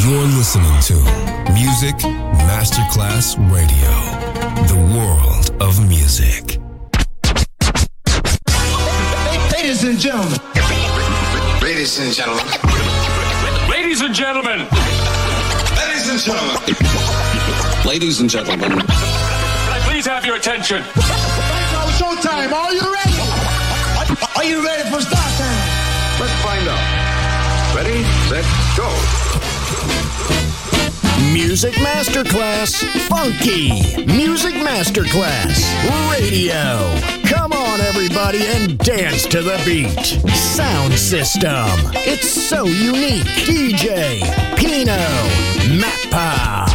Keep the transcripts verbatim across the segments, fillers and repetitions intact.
You're listening to Music Masterclass Radio, the world of music. Ladies and gentlemen. Ladies and gentlemen. Ladies and gentlemen. Ladies and gentlemen. Ladies and gentlemen. Can I please have your attention? It's showtime. Are you ready? Are you ready for start time? Let's find out. Ready, set, go. Music Masterclass Funky. Music Masterclass Radio. Come on, everybody, and dance to the beat. Sound system. It's so unique. D J Pino Mappa.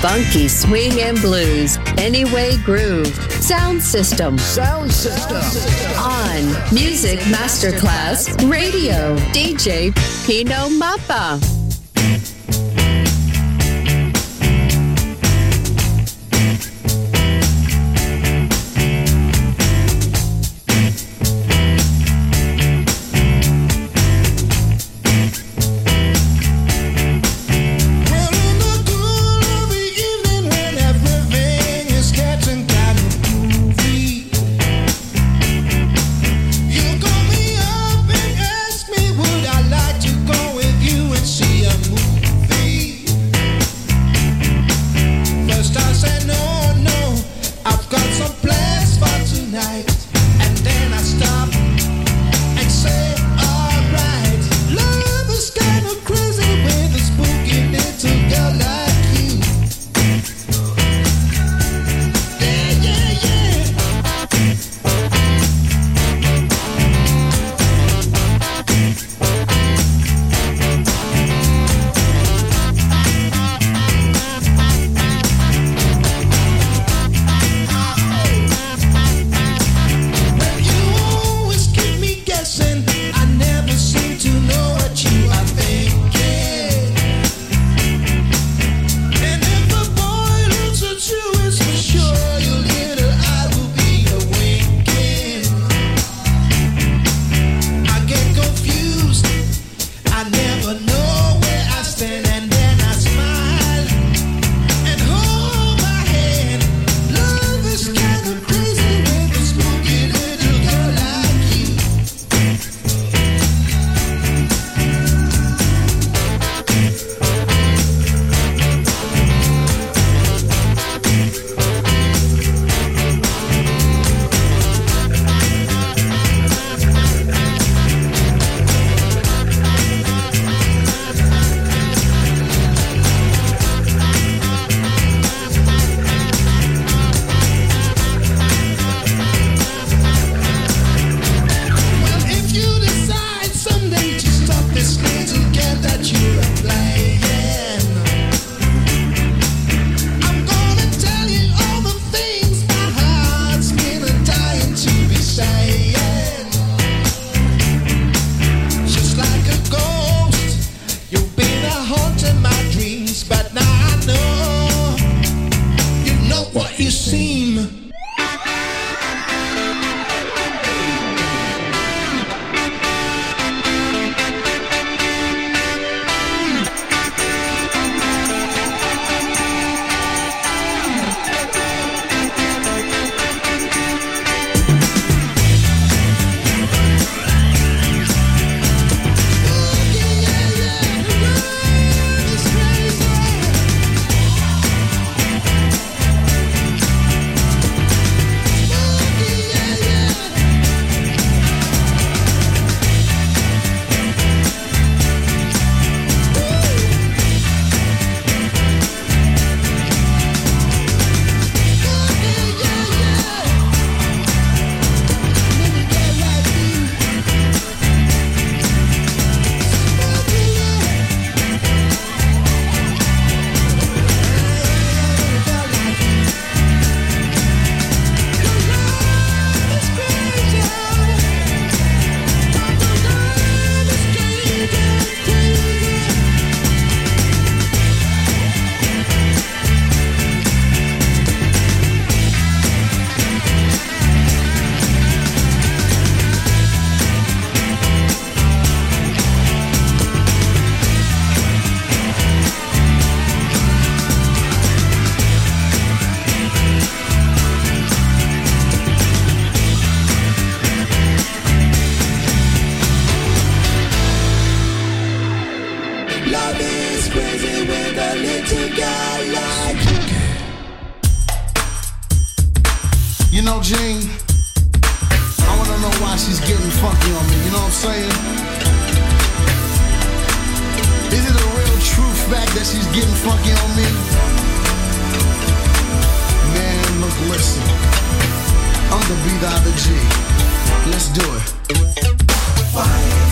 Funky swing and blues. Anyway Groove. Sound System. Sound System. On Music Masterclass Radio. D J Pino Mappa. know, Gene, I wanna know why she's getting funky on me, you know what I'm saying? Is it a real true fact that she's getting funky on me? Man, look, listen, I'm the B to the G. Let's do it. Why?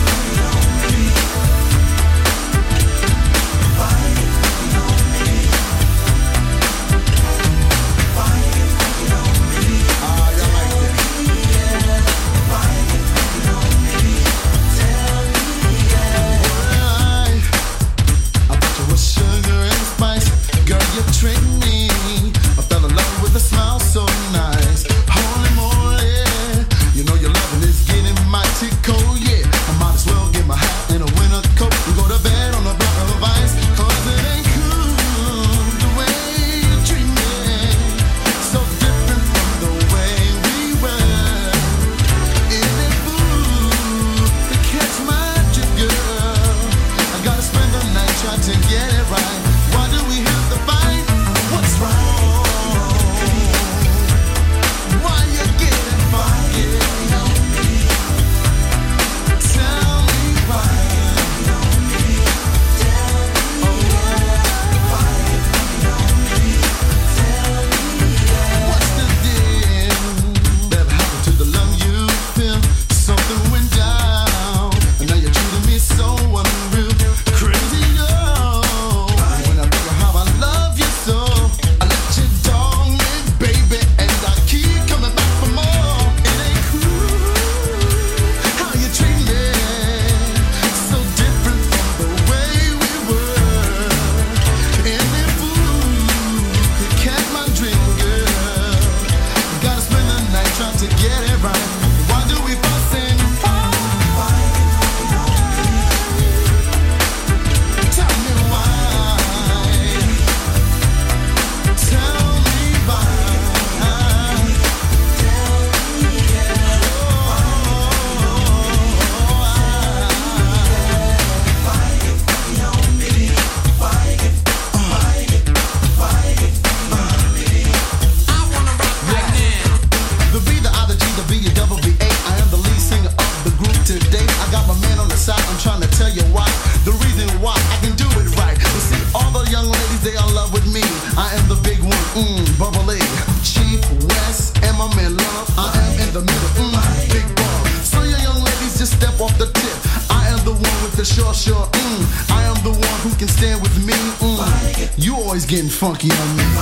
the middle, mm, big bomb. So you young ladies just step off the tip. I am the one with the short, short, mm. I am the one who can stand with me, mm. You always getting funky on me.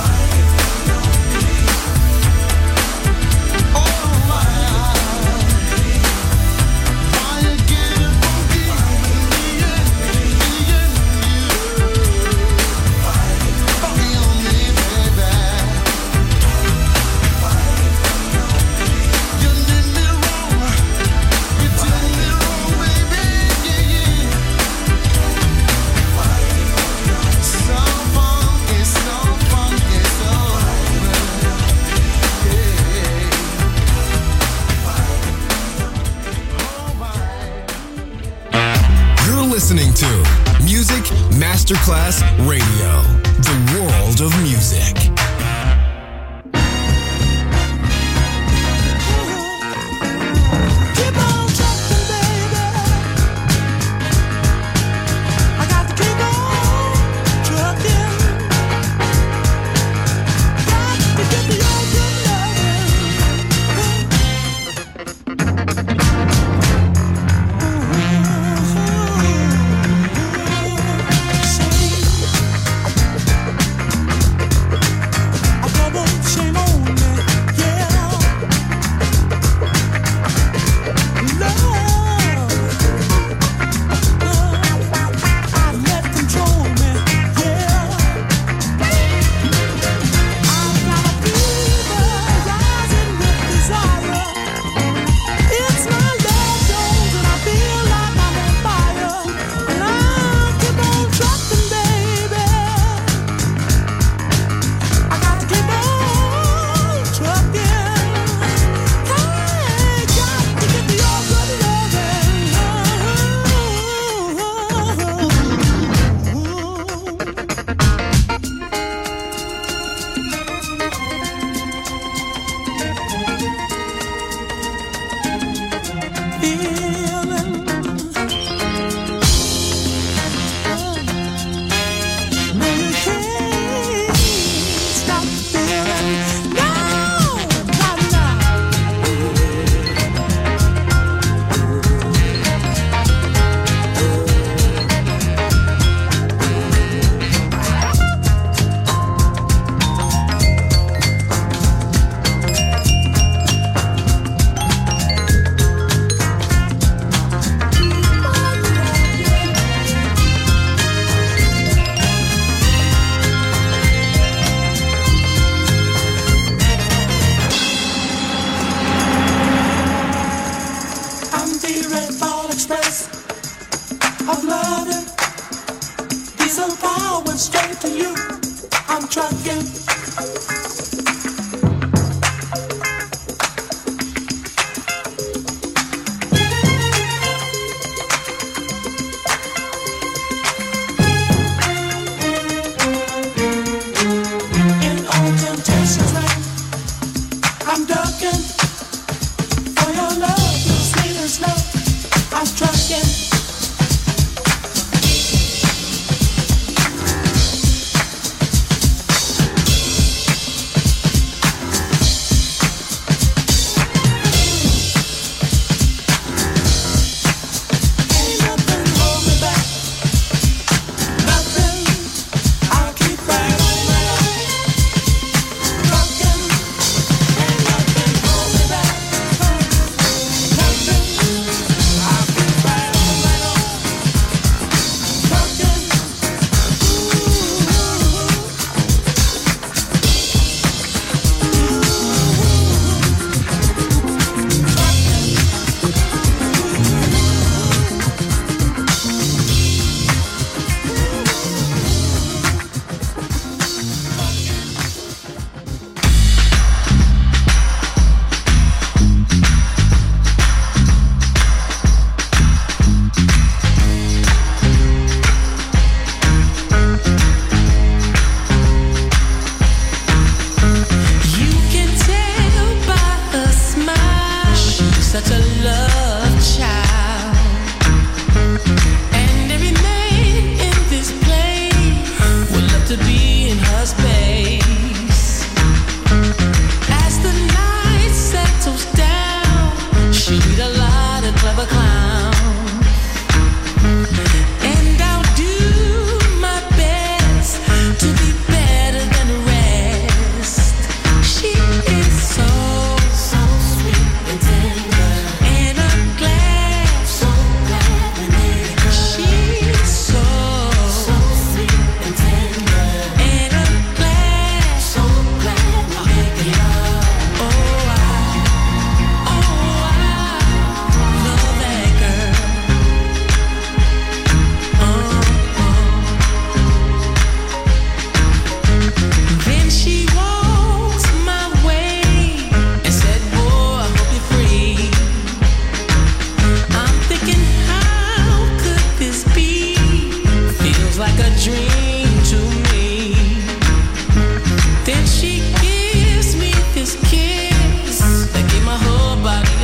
Listening to Music Masterclass Radio, the world of music.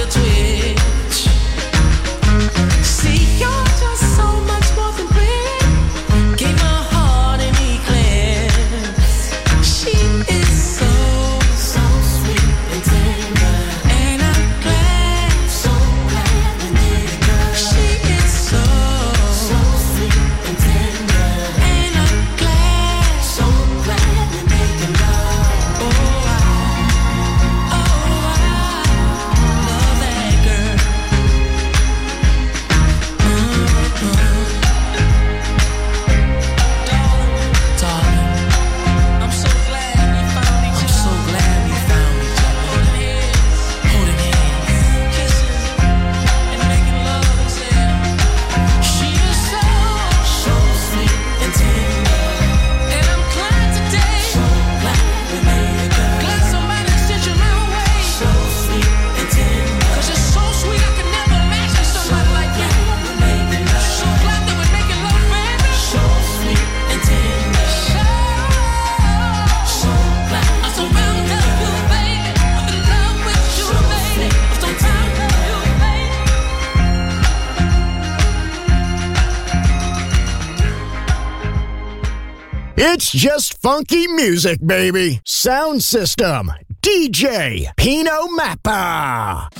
It's just funky music, baby. Sound System, D J Pino Mappa.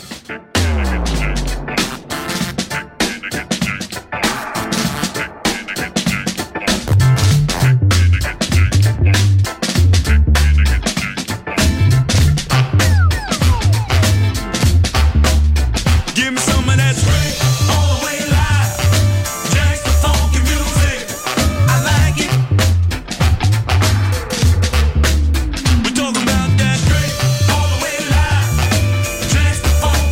Give me some of that straight, all the way live. Gangsta funky music, I like it. We're talking about that straight, all the way live. Gangsta funky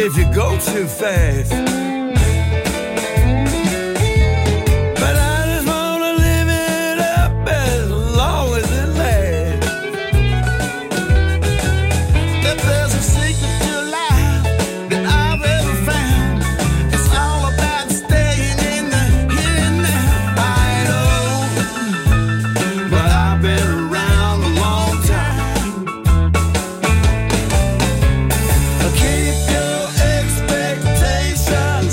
if you go too fast. But I just wanna live it up as long as it lasts. If there's a secret to life that I've ever found, it's all about staying in the here and now. I know, but I've been around a long time. Keep your expectations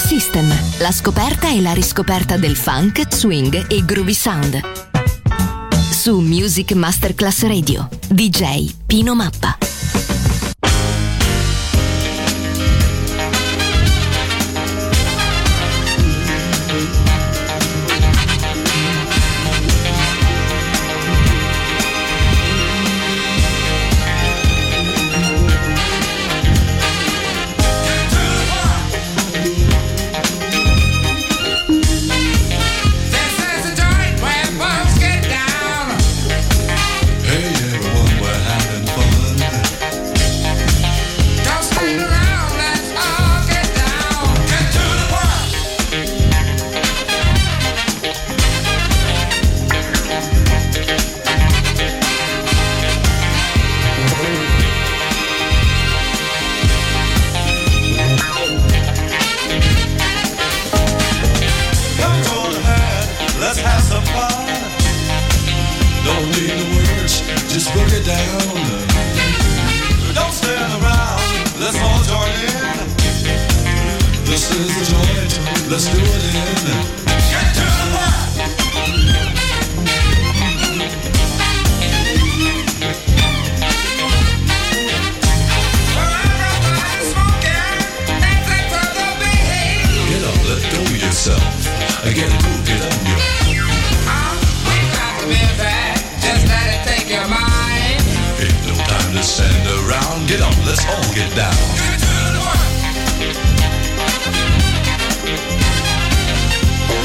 System, la scoperta e la riscoperta del funk, swing e groovy sound. Su Music Masterclass Radio, D J Pino Mappa. Get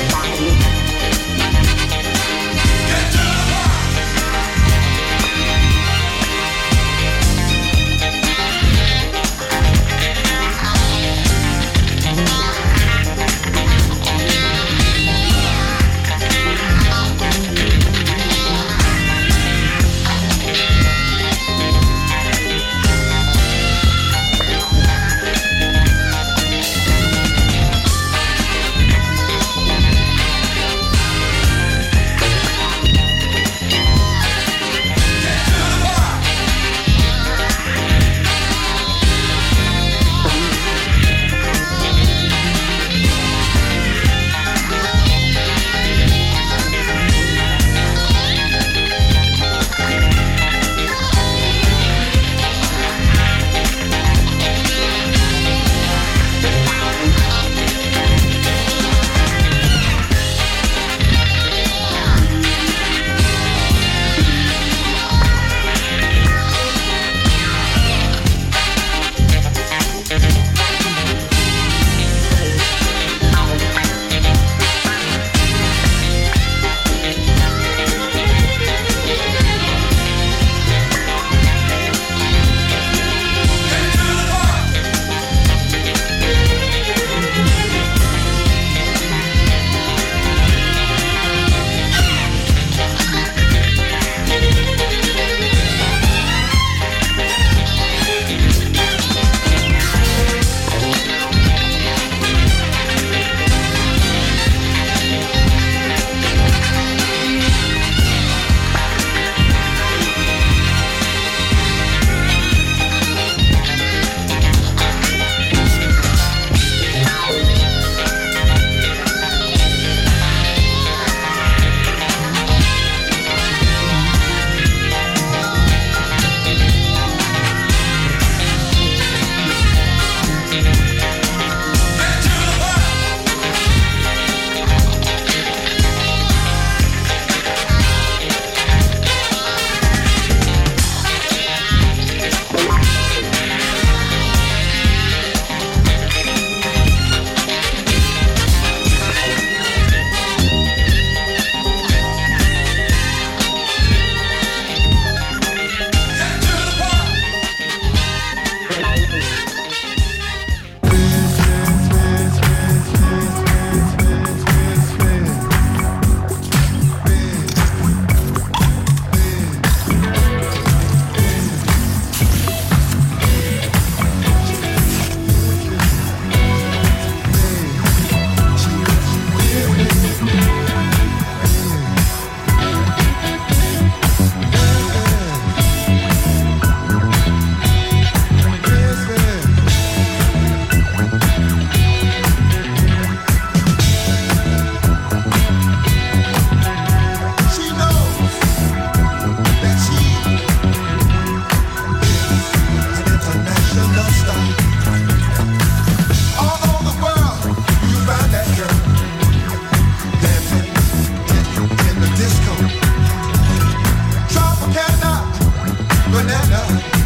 banana.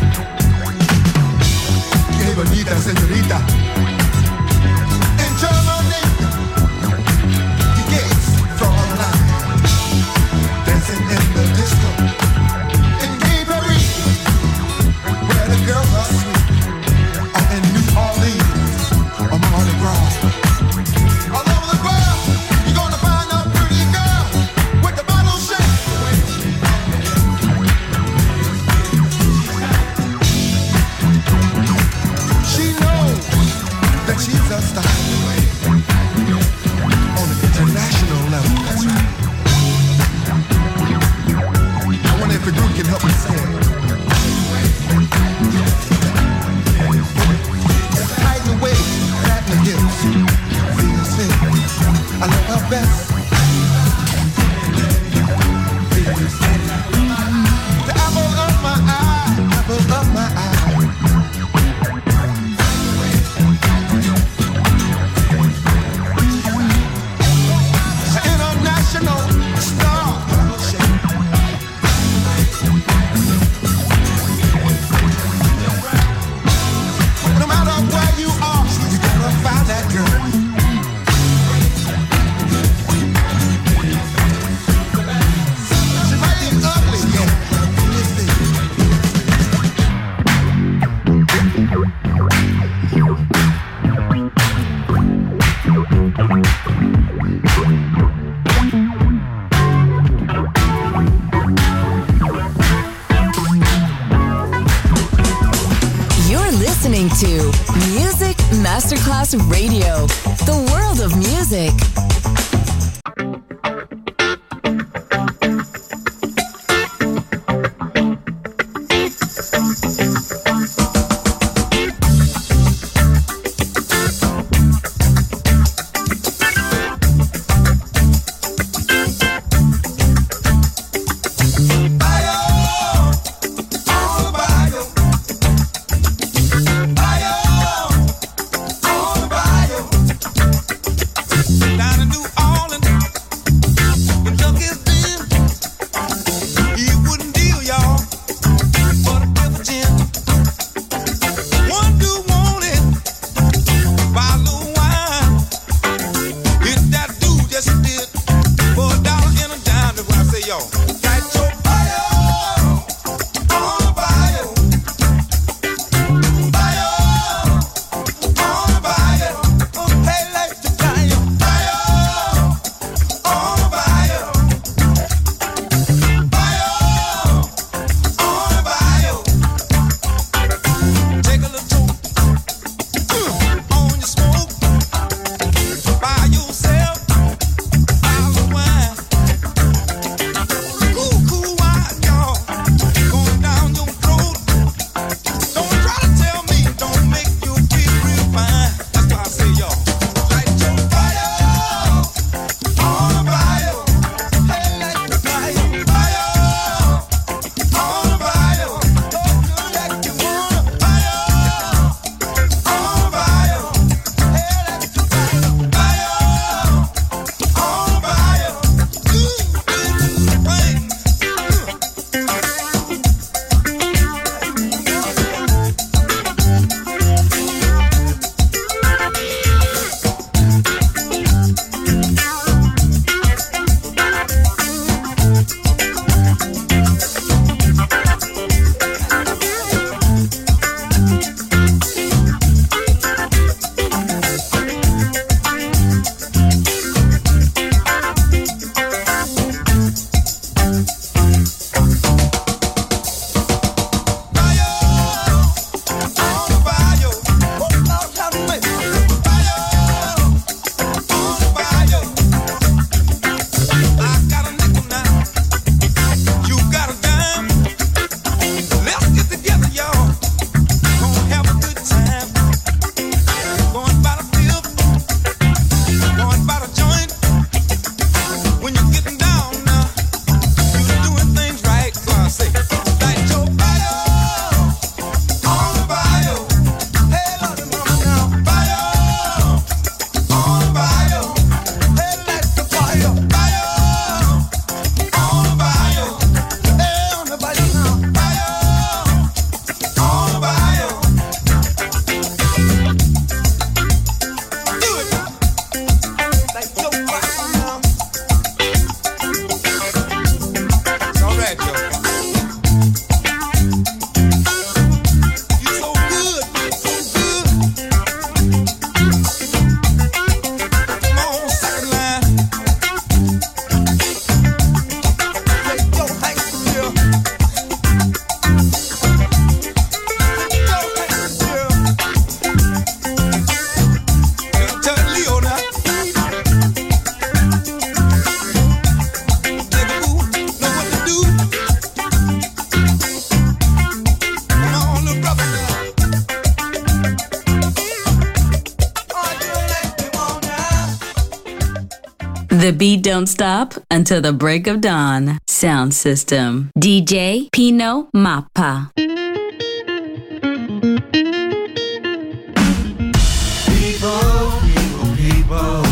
Qué bonita señorita. In Germany, the gays draw the line, dancing in the disco. In Gay Paris, where the girls are sweet, or in New Orleans, or Mardi Gras. All over the world, you're gonna find a pretty girl with the bottle shape. She knows that she's a star on an international level. That's right. I wonder if the group can help me say it. Tighten the waist, flatten the hips. See her spin. I love her best. The apple of my eye, apple of my eye. International star. No matter where you are, you gotta find that girl. She might be ugly, yeah. You're listening to Music Masterclass Radio, the world of music. Down in New The beat don't stop until the break of dawn. Sound system. D J Pino Mappa. People, people, people,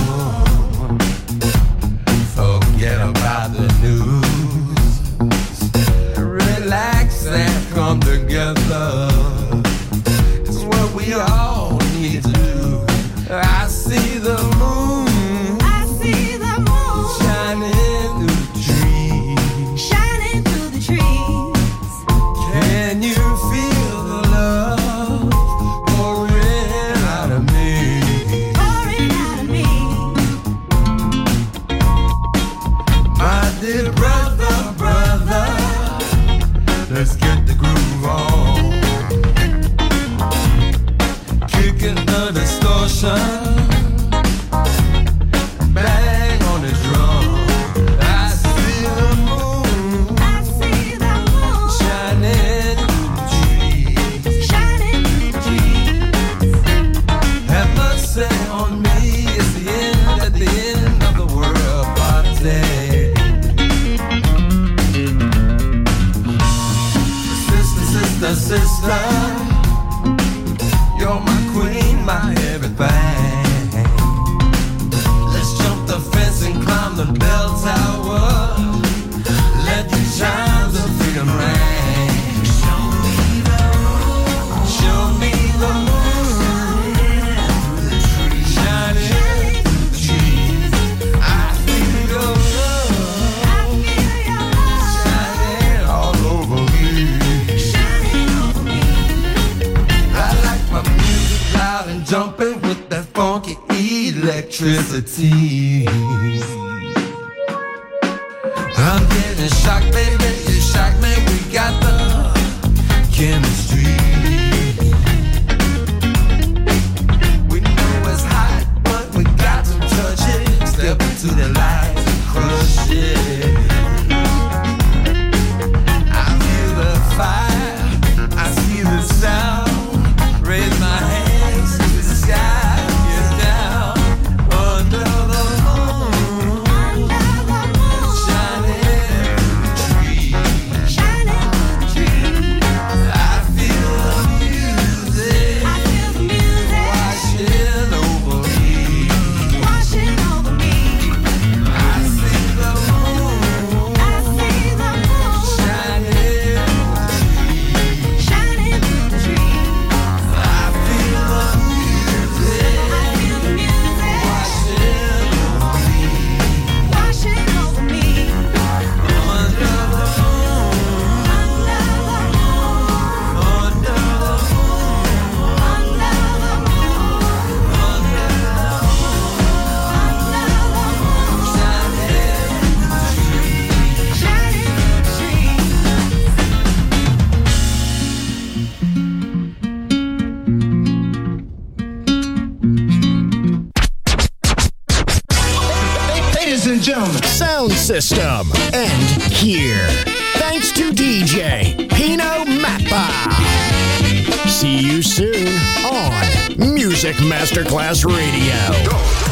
forget about the news. Relax and come together. It's what we all need to do. I see the moon. I see the moon shining through the trees. Shining through the trees. Can you feel the love pouring out of me? Pouring out of me. My dear brother, brother, let's get the groove on. Kicking the distortion. Bang on the drum. I see the moon. I see the moon shining through the trees. Shining through the trees. Have mercy on me. It's the end at the end of the world party. Sister, sister, sister, you're my queen, my everything. Let's jump the fence and climb the bell tower. Let the chimes of freedom ring. Show me the moon. Show me the moon. Shining through the trees. I feel your love. I feel your love. Shining all over me. Shining over me. I like my music loud and jumping with that funky electricity. I'm getting shocked, baby, you shock me. We got the chemistry. We know it's hot, but we got to touch it. Step into the light and crush it. I feel the fire, I see the sound. Raise my hands to the sky, get down under the moon. Under the moon, shining through the trees. Shining through the trees. I feel the music. I feel the music washing over me. Washing over me. I see the moon. I see the moon shining through the trees. Shining through the trees. I feel the music. I feel the music washing over me. Washing over me. Under the moon. Under the moon. Under the moon. Under the moon. Under the moon. Shining through the trees. Shining through the trees. Ladies and gentlemen, sound system. And here. Thanks to D J Pino Mappa. See you soon on Music Masterclass Radio.